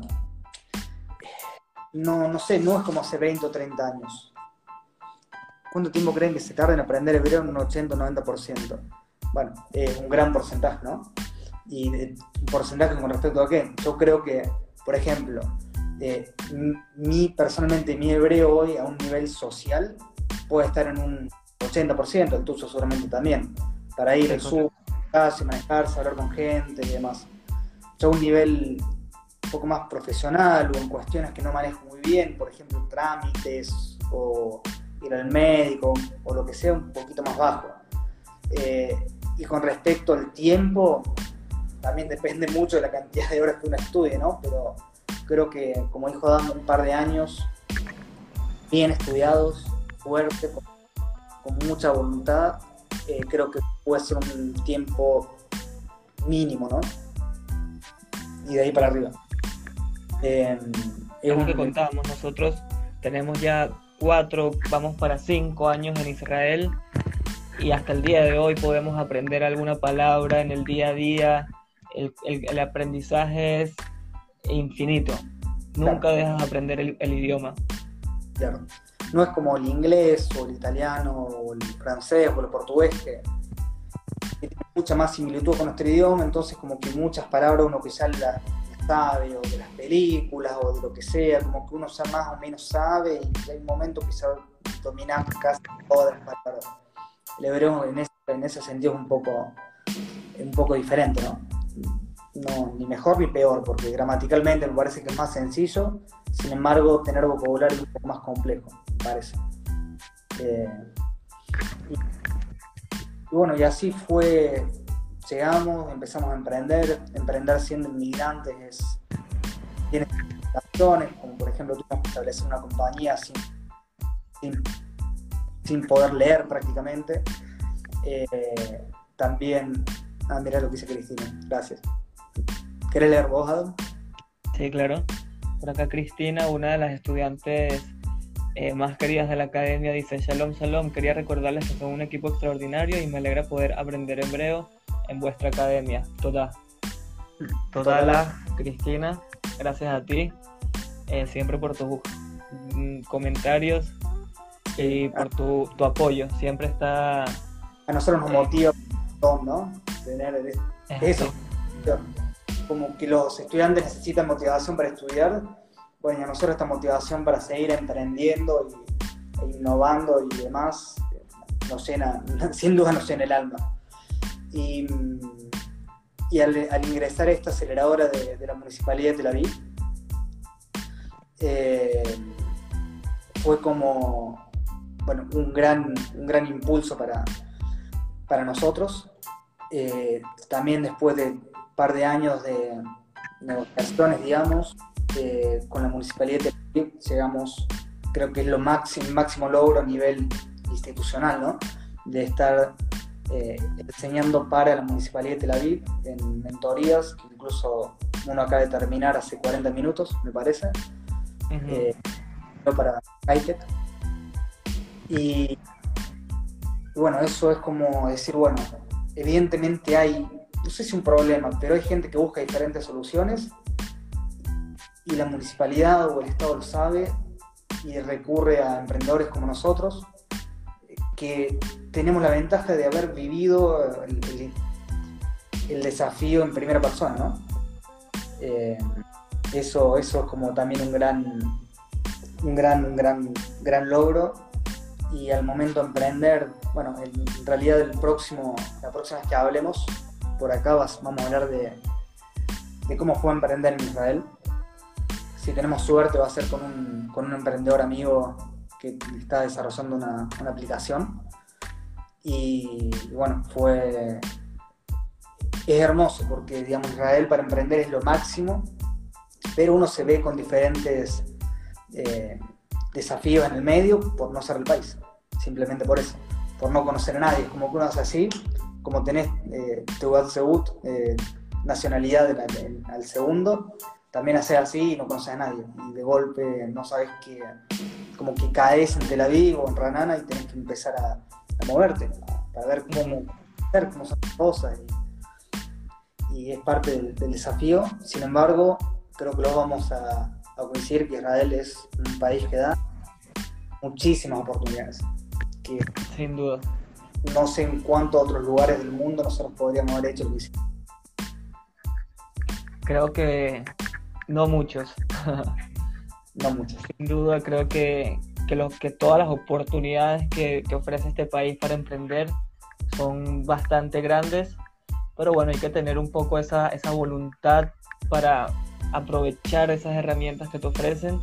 no, no sé, no es como hace veinte o treinta años. ¿Cuánto tiempo creen que se tarda en aprender hebreo? Un ochenta o noventa por ciento. Bueno, es un gran porcentaje, ¿no? Y de, un porcentaje con respecto a qué. Yo creo que, por ejemplo, eh, mi, personalmente mi hebreo hoy a un nivel social puede estar en un ochenta por ciento, el tuyo seguramente también, para ir al sur, calle, manejarse, hablar con gente y demás. Yo a un nivel un poco más profesional o en cuestiones que no manejo muy bien, por ejemplo, trámites o ir al médico o lo que sea, un poquito más bajo. Eh, y con respecto al tiempo, también depende mucho de la cantidad de horas que uno estudie, ¿no? Pero creo que, como dijo Dan, un par de años bien estudiados, fuerte, con, con mucha voluntad, eh, creo que puede ser un tiempo mínimo, ¿no? Y de ahí para arriba. Eh, es lo que contábamos, nosotros tenemos ya cuatro, vamos para cinco años en Israel y hasta el día de hoy podemos aprender alguna palabra en el día a día. El, el, el aprendizaje es infinito, nunca claro. dejas de aprender el, el idioma. Claro. No es como el inglés o el italiano o el francés o el portugués que, que tiene mucha más similitud con nuestro idioma, entonces como que muchas palabras uno que ya las sabe, o de las películas, o de lo que sea, como que uno ya más o menos sabe, y hay un momento que ya dominamos casi todas las palabras. El hebreo en ese, en ese sentido es un poco, un poco diferente, ¿no? No, ni mejor ni peor, porque gramaticalmente me parece que es más sencillo, sin embargo, tener vocabulario un poco más complejo, me parece. Eh, y, y bueno, y así fue. Llegamos, empezamos a emprender, emprender siendo inmigrantes es, tiene limitaciones, como por ejemplo tuvimos que establecer una compañía sin, sin, sin poder leer prácticamente. Eh, también, ah, mira lo que dice Cristina, gracias. ¿Querés leer vos, Adam? Sí, claro. Por acá Cristina, una de las estudiantes eh, más queridas de la academia, dice: Shalom, shalom, quería recordarles que son un equipo extraordinario y me alegra poder aprender hebreo en vuestra academia. Toda, toda la Cristina, gracias a ti, eh, siempre por tus mm, comentarios y por tu, tu apoyo. Siempre está. A nosotros nos eh, motiva, ¿no? Tener eso. Sí. Como que los estudiantes necesitan motivación para estudiar. Bueno, a nosotros esta motivación para seguir emprendiendo y, e innovando y demás nos llena, sin duda nos llena el alma. Y, y al, al ingresar a esta aceleradora de, de la Municipalidad de Tel Aviv, eh, fue como bueno, un, gran, un gran impulso para, para nosotros. Eh, también después de un par de años de negociaciones, digamos, eh, con la Municipalidad de Tel Aviv, llegamos, creo que es lo máximo, máximo logro a nivel institucional, ¿no? De estar Eh, enseñando para la Municipalidad de Tel Aviv en mentorías, que incluso uno acaba de terminar hace cuarenta minutos, me parece, uh-huh. eh, para Hightech. Y, y bueno, eso es como decir, bueno, evidentemente hay, no sé si un problema, pero hay gente que busca diferentes soluciones y la municipalidad o el Estado lo sabe y recurre a emprendedores como nosotros, que tenemos la ventaja de haber vivido el, el, el desafío en primera persona, ¿no? Eh, eso, eso es como también un gran, un gran, un gran, gran logro. Y al momento de emprender, bueno, en realidad el próximo, la próxima vez que hablemos, por acá vas, vamos a hablar de, de cómo fue emprender en Israel. Si tenemos suerte va a ser con un, con un emprendedor amigo que está desarrollando una, una aplicación. Y bueno, fue... Es hermoso porque, digamos, Israel para emprender es lo máximo, pero uno se ve con diferentes eh, desafíos en el medio por no ser el país, simplemente por eso, por no conocer a nadie. Como que uno hace así, como tenés eh, Teudat Zehut, eh, nacionalidad en, en, al segundo, también haces así y no conoces a nadie. Y de golpe no sabes que, como que caes en Tel Aviv o en Ranana y tenés que empezar a, a moverte para ver cómo, ver cómo son las cosas. Y, y es parte del, del desafío. Sin embargo, creo que lo vamos a, a coincidir que Israel es un país que da muchísimas oportunidades, que sin duda no sé en cuántos otros lugares del mundo nosotros podríamos haber hecho lo que hicimos. Creo que no muchos. No muchos. Sin duda creo que, que, lo, que todas las oportunidades que, que ofrece este país para emprender son bastante grandes. Pero bueno, hay que tener un poco esa, esa voluntad para aprovechar esas herramientas que te ofrecen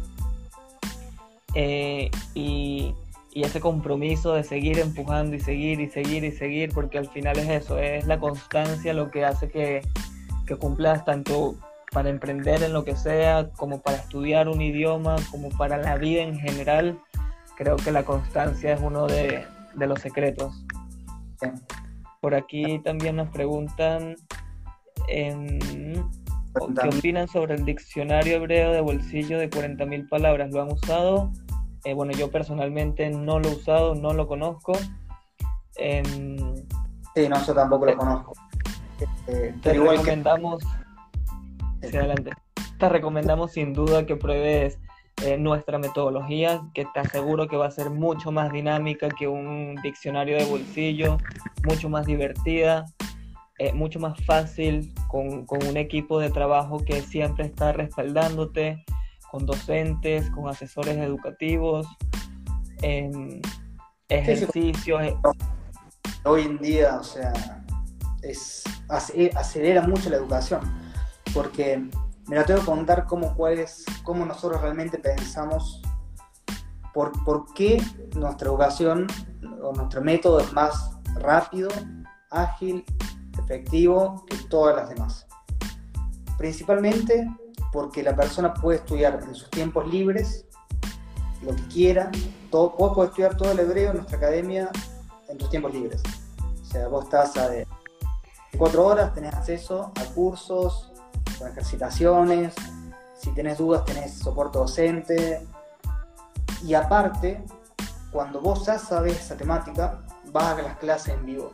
eh, y, y ese compromiso de seguir empujando y seguir y seguir y seguir, porque al final es eso, es la constancia lo que hace que, que cumplas tanto para emprender en lo que sea, como para estudiar un idioma, como para la vida en general. Creo que la constancia es uno de, de los secretos. Sí. Por aquí también nos preguntan eh, ¿qué opinan sobre el diccionario hebreo de bolsillo de cuarenta mil palabras? ¿Lo han usado? Eh, bueno, yo personalmente no lo he usado, no lo conozco. Eh, sí, no, yo tampoco lo conozco. Eh, te recomendamos... Que... Sí, adelante. Te recomendamos sin duda que pruebes eh, nuestra metodología, que te aseguro que va a ser mucho más dinámica que un diccionario de bolsillo, mucho más divertida, eh, mucho más fácil, con, con un equipo de trabajo que siempre está respaldándote, con docentes, con asesores educativos, eh, ejercicios. Sí, sí. Hoy en día, o sea, es, acelera mucho la educación, porque me la tengo que contar cómo, cuál es, cómo nosotros realmente pensamos, por, por qué nuestra educación o nuestro método es más rápido, ágil, efectivo que todas las demás. Principalmente porque la persona puede estudiar en sus tiempos libres lo que quiera. Todo, vos podés estudiar todo el hebreo en nuestra academia en tus tiempos libres. O sea, vos estás a de cuatro horas, tenés acceso a cursos, con ejercitaciones, si tenés dudas tenés soporte docente, y aparte, cuando vos ya sabés esa temática, vas a las clases en vivo,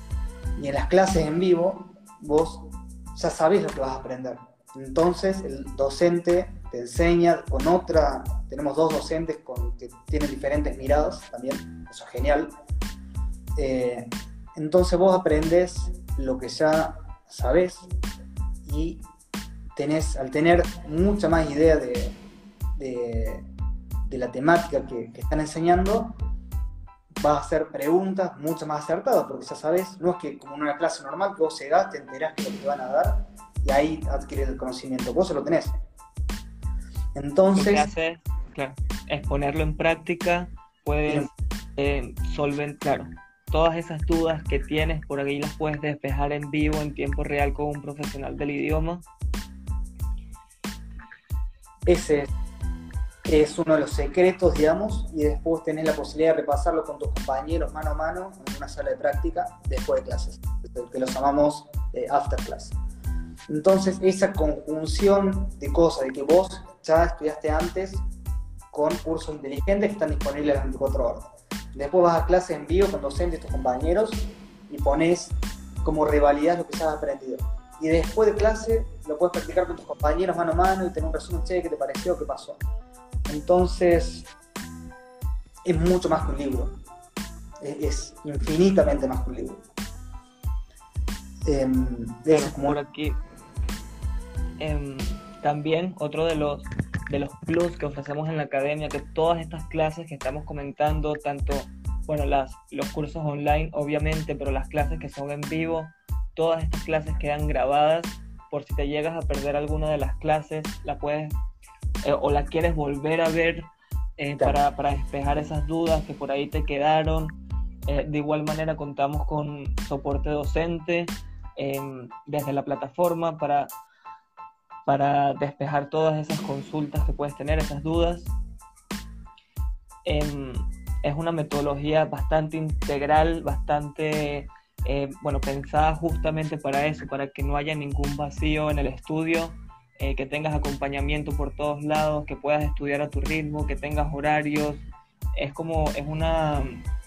y en las clases en vivo vos ya sabés lo que vas a aprender. Entonces el docente te enseña con otra, tenemos dos docentes con, que tienen diferentes miradas también, eso es genial. Eh, entonces vos aprendés lo que ya sabés y tenés, al tener mucha más idea de, de, de la temática que, que están enseñando, vas a hacer preguntas mucho más acertadas, porque ya sabes, no es que como en una clase normal que vos llegás, te enterás que lo que te van a dar y ahí adquieres el conocimiento, vos se lo tenés. Entonces, lo que haces, claro, es ponerlo en práctica, puedes eh, solventar, claro, todas esas dudas que tienes por ahí las puedes despejar en vivo, en tiempo real, con un profesional del idioma. Ese es uno de los secretos, digamos, y después tenés la posibilidad de repasarlo con tus compañeros mano a mano en una sala de práctica después de clases, que los llamamos eh, after class. Entonces, esa conjunción de cosas, de que vos ya estudiaste antes con cursos inteligentes que están disponibles las veinticuatro horas. Después vas a clases en vivo con docentes y tus compañeros y pones como revalidás lo que ya has aprendido. Y después de clase lo puedes practicar con tus compañeros mano a mano y tener un resumen, che, ¿qué te pareció? ¿Qué pasó? Entonces, es mucho más que un libro. Es, es infinitamente más que un libro. Eh, Pero como... por aquí, eh, también otro de los, de los plus que ofrecemos en la academia, que todas estas clases que estamos comentando, tanto, bueno, las, los cursos online, obviamente, pero las clases que son en vivo, todas estas clases quedan grabadas, por si te llegas a perder alguna de las clases, la puedes, eh, o la quieres volver a ver, eh, para, para despejar esas dudas que por ahí te quedaron. Eh, de igual manera contamos con soporte docente eh, desde la plataforma para, para despejar todas esas consultas que puedes tener, esas dudas. Eh, es una metodología bastante integral, bastante eh, bueno, pensada justamente para eso, para que no haya ningún vacío en el estudio, eh, que tengas acompañamiento por todos lados, que puedas estudiar a tu ritmo, que tengas horarios. Es como, es una...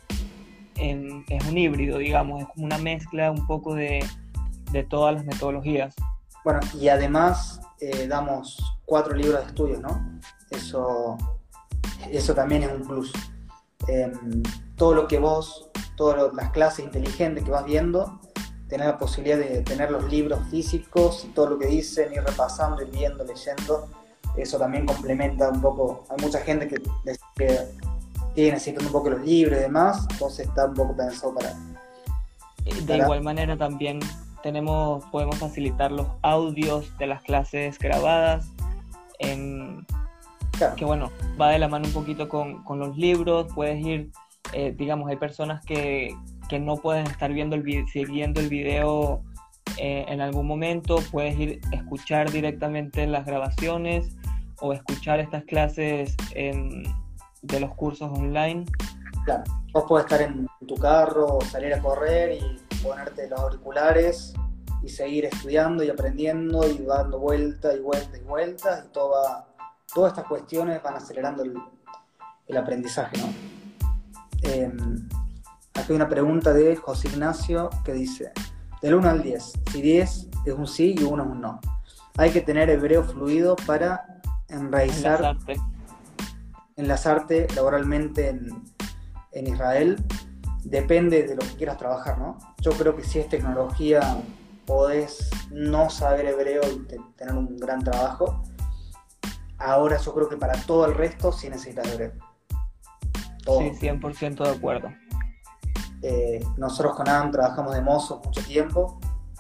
En, es un híbrido, digamos, es como una mezcla un poco de, de todas las metodologías. Bueno, y además eh, damos cuatro libros de estudio, ¿no? Eso, eso también es un plus. Eh, todo lo que vos, todas las clases inteligentes que vas viendo, tener la posibilidad de tener los libros físicos y todo lo que dicen, ir repasando, ir viendo, leyendo, eso también complementa un poco. Hay mucha gente que, que sigue necesitando un poco los libros y demás, entonces está un poco pensado para... De para... igual manera también tenemos, podemos facilitar los audios de las clases grabadas, en, claro. Que bueno, va de la mano un poquito con, con los libros. Puedes ir, eh, digamos, hay personas que, que no pueden estar viendo el, siguiendo el video eh, en algún momento, puedes ir a escuchar directamente las grabaciones o escuchar estas clases en... de los cursos online. Claro, vos podés estar en tu carro, salir a correr y ponerte los auriculares y seguir estudiando y aprendiendo y dando vueltas y vueltas y vueltas, y todo va, todas estas cuestiones van acelerando el, el aprendizaje, ¿no? Eh, aquí hay una pregunta de José Ignacio que dice: del uno al diez, si diez es un sí y uno es un no, ¿hay que tener hebreo fluido para enraizar Enlazarte. enlazarte laboralmente en, en Israel? Depende de lo que quieras trabajar, ¿no? Yo creo que si es tecnología podés no saber hebreo y te, tener un gran trabajo. Ahora yo creo que para todo el resto sí necesitas hebreo. Todo. Sí, cien por ciento de acuerdo. Eh, nosotros con Adam trabajamos de mozos mucho tiempo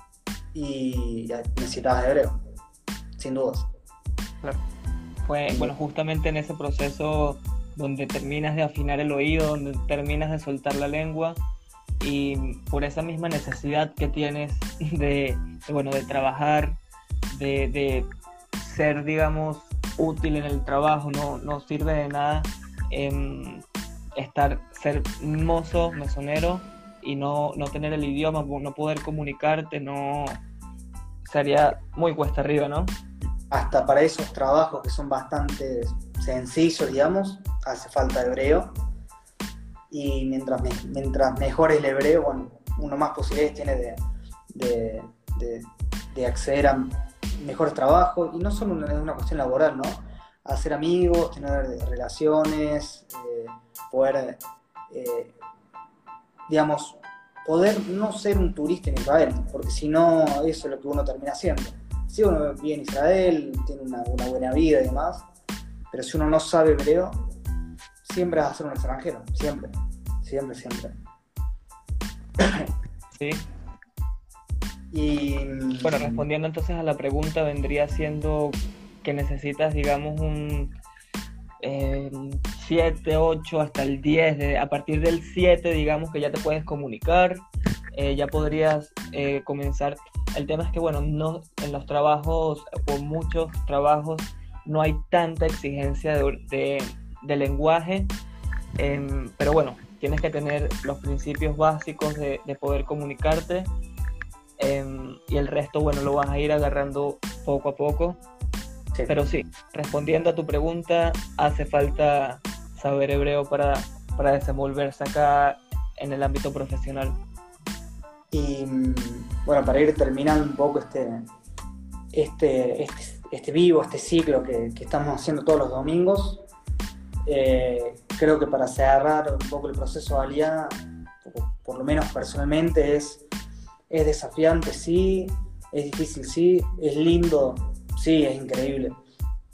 y necesitabas hebreo, sin dudas. Claro. Fue, bueno, justamente en ese proceso donde terminas de afinar el oído, donde terminas de soltar la lengua, y por esa misma necesidad que tienes de, de, bueno, de trabajar, de, de ser, digamos, útil en el trabajo, no, no sirve de nada eh, estar, ser mozo, mesonero y no, no tener el idioma, no poder comunicarte, no sería muy cuesta arriba, ¿no? Hasta para esos trabajos que son bastante sencillos, digamos, hace falta hebreo. Y mientras, me, mientras mejor el hebreo, bueno, uno más posibilidades tiene de, de, de, de acceder a mejores trabajos. Y no solo una, una cuestión laboral, ¿no? Hacer amigos, tener relaciones, eh, poder, eh, digamos, poder no ser un turista en Israel, porque si no, eso es lo que uno termina haciendo. Si uno vive en Israel, tiene una, una buena vida y demás, pero si uno no sabe hebreo, siempre vas a ser un extranjero, siempre, siempre, siempre. Sí. Y bueno, respondiendo entonces a la pregunta, vendría siendo que necesitas, digamos, un eh, siete, ocho, hasta el diez. De, a partir del siete, digamos que ya te puedes comunicar, eh, ya podrías eh, comenzar. El tema es que, bueno, no, en los trabajos, o muchos trabajos, no hay tanta exigencia de, de, de lenguaje, eh, pero bueno, tienes que tener los principios básicos de, de poder comunicarte, eh, y el resto, bueno, lo vas a ir agarrando poco a poco. Sí. Pero sí, respondiendo a tu pregunta, hace falta saber hebreo para, para desenvolverse acá en el ámbito profesional. Y bueno, para ir terminando un poco este, este, este, este vivo, este ciclo que, que estamos haciendo todos los domingos, eh, creo que para cerrar un poco el proceso de Aliyah, por, por lo menos personalmente, es, es desafiante, sí, es difícil, sí, es lindo, sí, es increíble.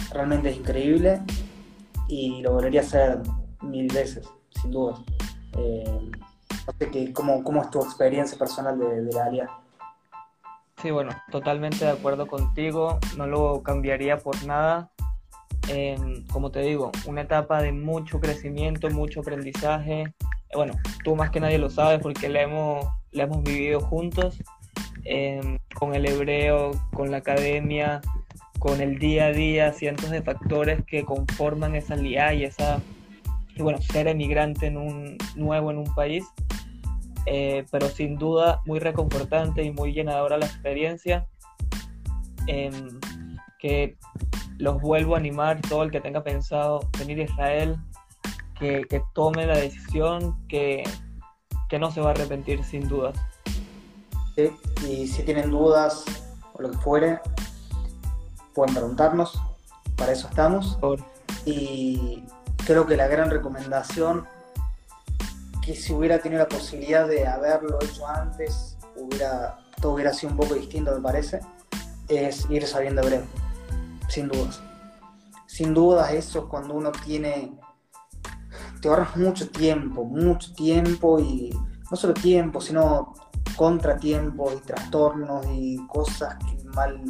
realmente es increíble y lo volvería a hacer mil veces, sin duda. Eh, no sé qué, cómo, cómo es tu experiencia personal de, de la Alia. Sí, bueno, totalmente de acuerdo contigo, no lo cambiaría por nada. Eh, como te digo, una etapa de mucho crecimiento, mucho aprendizaje. Eh, bueno, tú más que nadie lo sabes porque la hemos, la hemos vivido juntos, eh, con el hebreo, con la academia, con el día a día, cientos de factores que conforman esa liá y esa, y bueno, ser emigrante en un nuevo en un país. Eh, pero sin duda muy reconfortante y muy llenadora la experiencia, eh, que los vuelvo a animar, todo el que tenga pensado venir a Israel, que, que tome la decisión, que, que no se va a arrepentir sin dudas. ¿Sí? Y si tienen dudas o lo que fuere, pueden preguntarnos, para eso estamos. Por... Y creo que la gran recomendación, que si hubiera tenido la posibilidad de haberlo hecho antes, hubiera, todo hubiera sido un poco distinto, me parece, es ir sabiendo hebreo, sin dudas. Sin dudas, eso cuando uno tiene, te ahorras mucho tiempo, mucho tiempo, y no solo tiempo, sino contratiempos y trastornos y cosas que mal,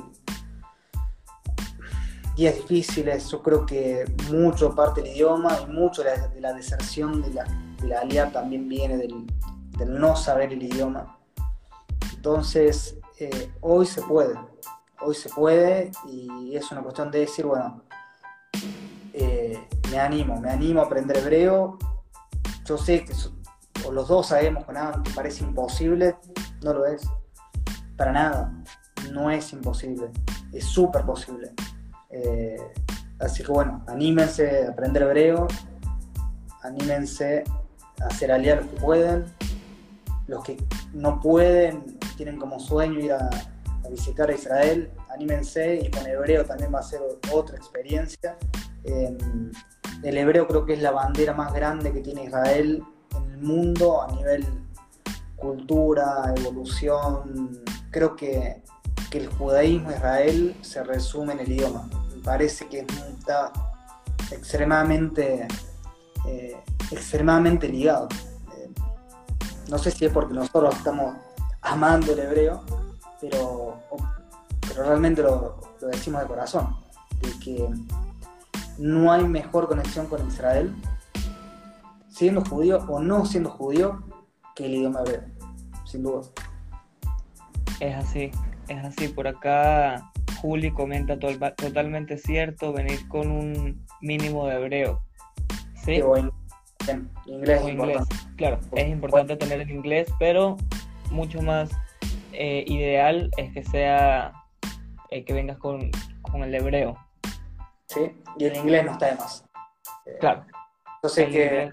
días difíciles. Yo creo que mucho parte del idioma y mucho de la, de la deserción de la, de la Aliyah también viene del, del no saber el idioma. Entonces, eh, hoy se puede, hoy se puede, y es una cuestión de decir, bueno, eh, me animo, me animo a aprender hebreo. Yo sé que, o los dos sabemos que nada que parece imposible, no lo es, para nada, no es imposible, es súper posible. Eh, así que bueno, anímense a aprender hebreo, anímense a hacer Aliyah los que pueden. Los que no pueden, tienen como sueño ir a, a visitar a Israel, anímense, y con hebreo también va a ser otra experiencia. Eh, el hebreo creo que es la bandera más grande que tiene Israel en el mundo a nivel cultura, evolución. Creo que, que el judaísmo de Israel se resume en el idioma. Me parece que está extremadamente, eh, extremadamente ligado. Eh, no sé si es porque nosotros estamos amando el hebreo, pero, pero realmente lo, lo decimos de corazón, de que no hay mejor conexión con Israel, siendo judío o no siendo judío, que el idioma hebreo, sin duda. Es así, es así. Por acá Juli comenta to- totalmente cierto, venir con un mínimo de hebreo. ¿Sí? O in- en inglés O es inglés. importante. Claro, es importante tener el inglés, pero mucho más eh, ideal es que sea eh, que vengas con, con el hebreo. ¿Sí? Y el inglés no está de más. Eh, Claro, yo sé el que inglés,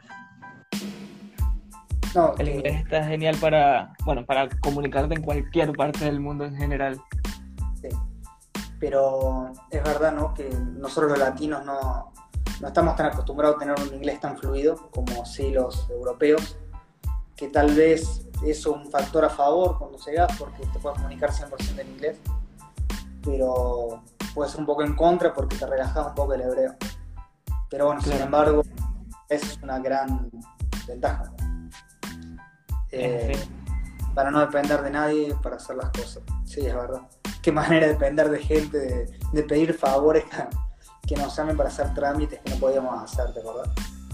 no, el que- inglés está genial para, bueno, para comunicarte en cualquier parte del mundo en general. sí. Pero es verdad, ¿no?, que nosotros los latinos no, no estamos tan acostumbrados a tener un inglés tan fluido como sí los europeos, que tal vez es un factor a favor cuando llegas porque te puedes comunicar cien por ciento en inglés, pero puede ser un poco en contra porque te relajas un poco el hebreo. Pero bueno, Claro. sin embargo, eso es una gran ventaja. Eh, Es así. para no depender de nadie para hacer las cosas. Sí, es verdad. Qué manera de depender de gente, de, de pedir favores que nos llamen para hacer trámites que no podíamos hacer, ¿te acordás?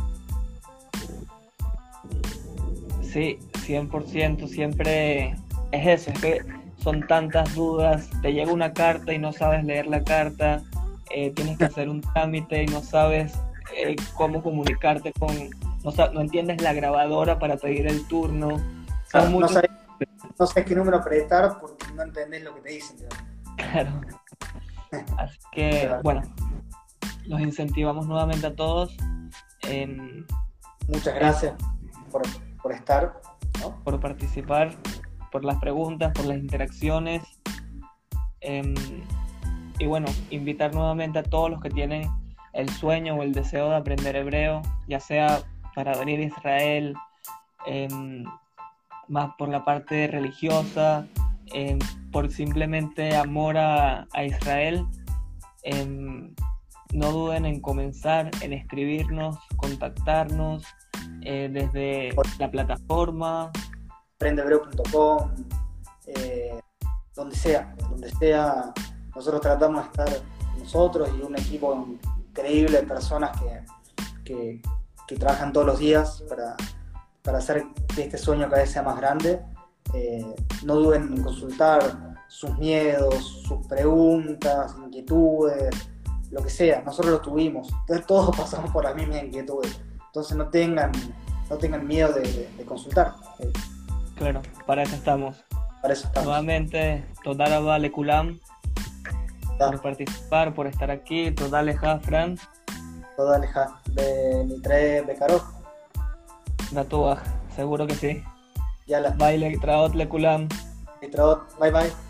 Sí, cien por ciento, siempre es eso, es que son tantas dudas, te llega una carta y no sabes leer la carta, eh, tienes que hacer un trámite y no sabes eh, cómo comunicarte con, no, sab- no entiendes la grabadora para pedir el turno, son Claro, no, muchos, sabes, no sabes qué número apretar porque no entendés lo que te dicen, ¿no? claro, así que bueno, los incentivamos nuevamente a todos em, Muchas gracias por, por estar, ¿no? por participar, por las preguntas, por las interacciones. Eh, y bueno, invitar nuevamente a todos los que tienen el sueño o el deseo de aprender hebreo, ya sea para venir a Israel, eh, más por la parte religiosa, eh, por simplemente amor a, a Israel, eh, no duden en comenzar, en escribirnos, contactarnos eh, desde la plataforma. Aprendehebreo punto com, eh, donde sea, donde sea. Nosotros tratamos de estar nosotros y un equipo increíble de personas que, que, que trabajan todos los días para, para hacer que este sueño cada vez sea más grande. Eh, no duden en consultar sus miedos, sus preguntas, inquietudes, lo que sea. Nosotros lo tuvimos, entonces todos pasamos por las mismas inquietudes. Entonces no tengan, no tengan miedo de, de, de consultar. Eh, Claro, para eso estamos. para eso estamos. Nuevamente, Toda Rabá Lekulam Ya. por participar, por estar aquí. Toda Leja, Fran. Toda aleja de Mitre Bekarov. Datuaj, seguro que sí. Ya la Baile, Traot Lekulam. Mitraot. Bye bye.